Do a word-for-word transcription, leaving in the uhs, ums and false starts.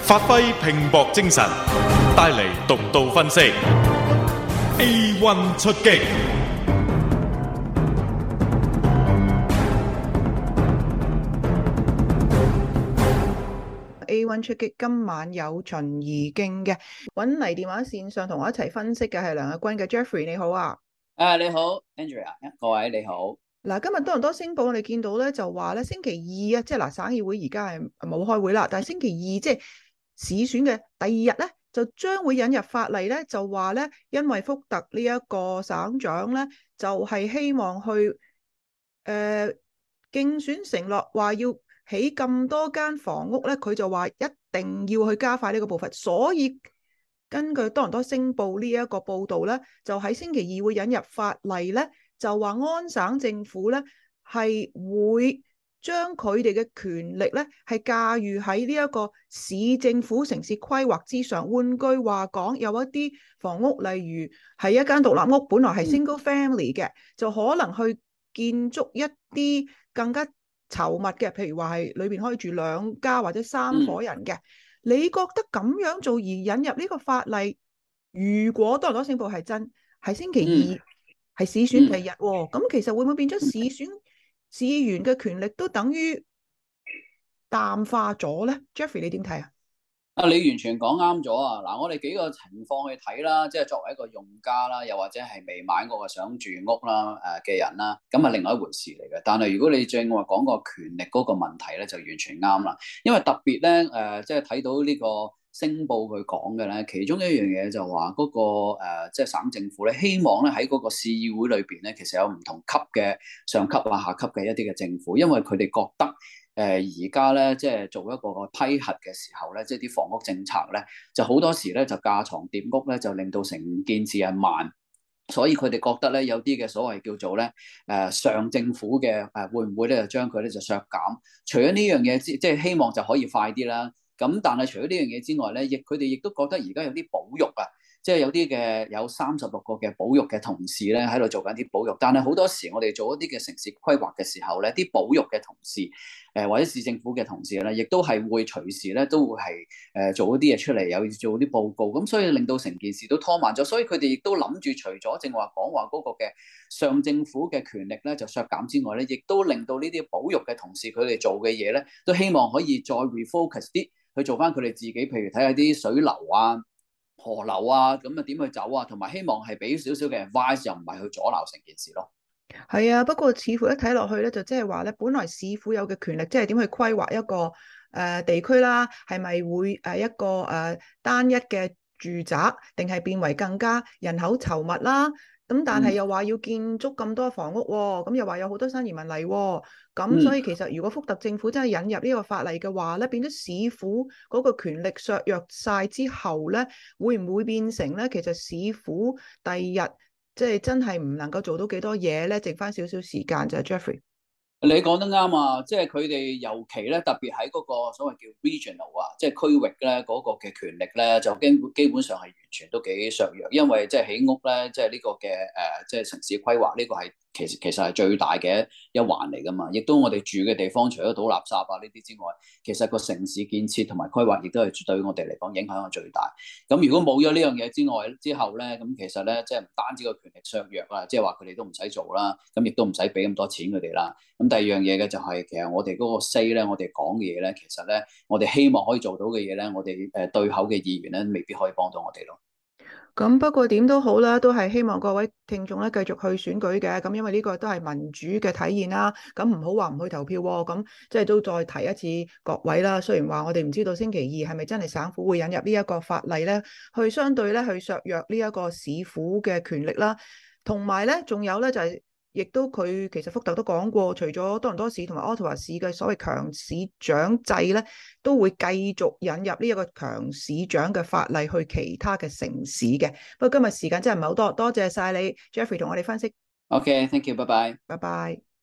發揮拼搏精神，帶嚟獨到分析。A one 出擊。 A one 出擊今晚有秦怡敬嘅，搵嚟電話線上同我一齊分析嘅係梁日軍嘅 Jeffrey， 你好啊。 誒，你好 Andrea， 各位你好。 嗱，今日多倫多星報我哋見到咧，就話咧星期二啊，即係嗱，省議會而家係冇開會啦，但係星期二即係市選嘅第二日咧，就將會引入法例咧，就話咧，因為福特呢一個省長咧，就係、是、希望去誒、呃、競選承諾話要起咁多間房屋咧，佢就話一定要去加快呢個步伐，所以根據多倫多星報呢一個報導咧，就喺星期二會引入法例咧。就話安省政府咧係會將佢哋嘅權力咧係駕馭喺呢一個市政府城市規劃之上。換句話講，有一啲房屋，例如係一間獨立屋，本來係 single family 嘅，就可能去建築一啲更加稠密嘅，譬如話係裏邊可以住兩家或者三夥人嘅。你覺得咁樣做而引入呢個法例，如果多倫多星報係真，係星期二？係市選第日喎，咁、嗯、其實會唔會變咗市選市議員嘅權力都等於淡化咗咧 ？Jeffrey 你點睇啊？ 啊，你完全講啱咗啊！嗱，我哋幾個情況去睇啦，即係作為一個用家啦，又或者係未買過嘅想住屋啦誒嘅人啦，咁係另外一回事嚟嘅。但係如果你正話講個權力嗰個問題咧，就完全啱啦。因為特別咧誒，即係睇到呢個星報佢講嘅咧，其中一樣嘢就話嗰、那個誒，即、呃、係、就是、省政府咧，希望咧喺嗰個市議會裏邊咧，其實有唔同級嘅上級啊、下級嘅一啲嘅政府，因為佢哋覺得。誒而家咧，即係做一個批核嘅時候咧，即係啲房屋政策咧，就好多時咧就架床疊屋咧，就令到成件事係慢，所以佢哋覺得咧有啲嘅所謂叫做咧誒、呃、上政府嘅誒、呃、會唔會咧就將佢咧就削減？除咗呢樣嘢之，即係希望就可以快啲啦。咁但係除咗呢樣嘢之外咧，亦佢哋亦都覺得而家有啲保育啊。即係有啲嘅有三十六個嘅保育嘅同事咧喺度做緊啲保育，但係好多時我哋做一啲嘅城市規劃嘅時候咧，啲保育嘅同事誒、呃、或者市政府嘅同事咧，亦都係會隨時咧都會係誒、呃、做一啲嘢出嚟，有做啲報告，咁所以令到成件事都拖慢咗。所以佢哋亦都諗住除咗正話講話嗰個嘅上政府嘅權力咧就削減之外咧，亦都令到呢啲保育嘅同事佢哋做嘅嘢咧，都希望可以再 refocus 啲去做翻佢哋自己，譬如睇下啲水流啊。河流啊，咁啊點去走啊？同埋希望係俾少少嘅 advice，又唔係去阻撓成件事咯。 係啊，不過似乎一睇落去咧，就即係話咧，本來市府有嘅權力，即係點去規劃一個誒、呃、地區啦，係咪會誒一個誒、呃、單一嘅住宅，定係變為更加人口稠密啦？咁但係又話要建築咁多房屋，咁又話有好多新移民嚟，咁所以其實如果福特政府真係引入呢個法例嘅話咧，變咗市府嗰個權力削弱晒之後咧，會唔會變成咧？其實市府第二日即係真係唔能夠做到幾多嘢咧？剩翻少少時間就係 Jeffrey。 你講得啱啊！即係佢哋尤其咧，特別喺嗰個所謂叫 regional 啊，即係區域咧嗰個嘅權力咧，就基基本上係完全都幾削弱，因為即係起屋咧，即係呢個嘅誒，即係城市規劃呢個係。其實其實係最大嘅一環嚟㗎嘛，亦都我哋住嘅地方，除咗倒垃圾啊呢啲之外，其實個城市建設同埋規劃亦都係對我哋嚟講影響係最大。咁如果冇咗呢樣嘢之外之後咧，咁其實咧即係唔單止個權力削弱啦，即係話佢哋都唔使做啦，咁亦都唔使俾咁多錢佢哋啦。咁第二樣嘢嘅就係、是、其實我哋嗰個 say 咧，我哋講嘅嘢咧，其實咧我哋希望可以做到嘅嘢咧，我哋誒對口嘅議員咧，未必可以幫到我哋咯。 咁不過點都好啦，都係希望各位聽眾咧繼續去選舉嘅，咁因為呢個都係民主嘅體現啦。咁唔好話唔去投票喎，咁即係都再提一次各位啦。雖然話我哋唔知道星期二係咪真係省府會引入呢一個法例咧，去相對咧去削弱呢一個市府嘅權力啦，同埋咧仲有咧就係、是。亦都佢其實福特都講過，除咗多倫多市同埋渥太華市嘅所謂強市長制咧，都會繼續引入呢一個強市長嘅法例去其他嘅城市嘅。不過今日時間真係唔係好多，多謝晒你 Jeffrey 同我哋分析。 OK，thank you，拜拜。 拜拜。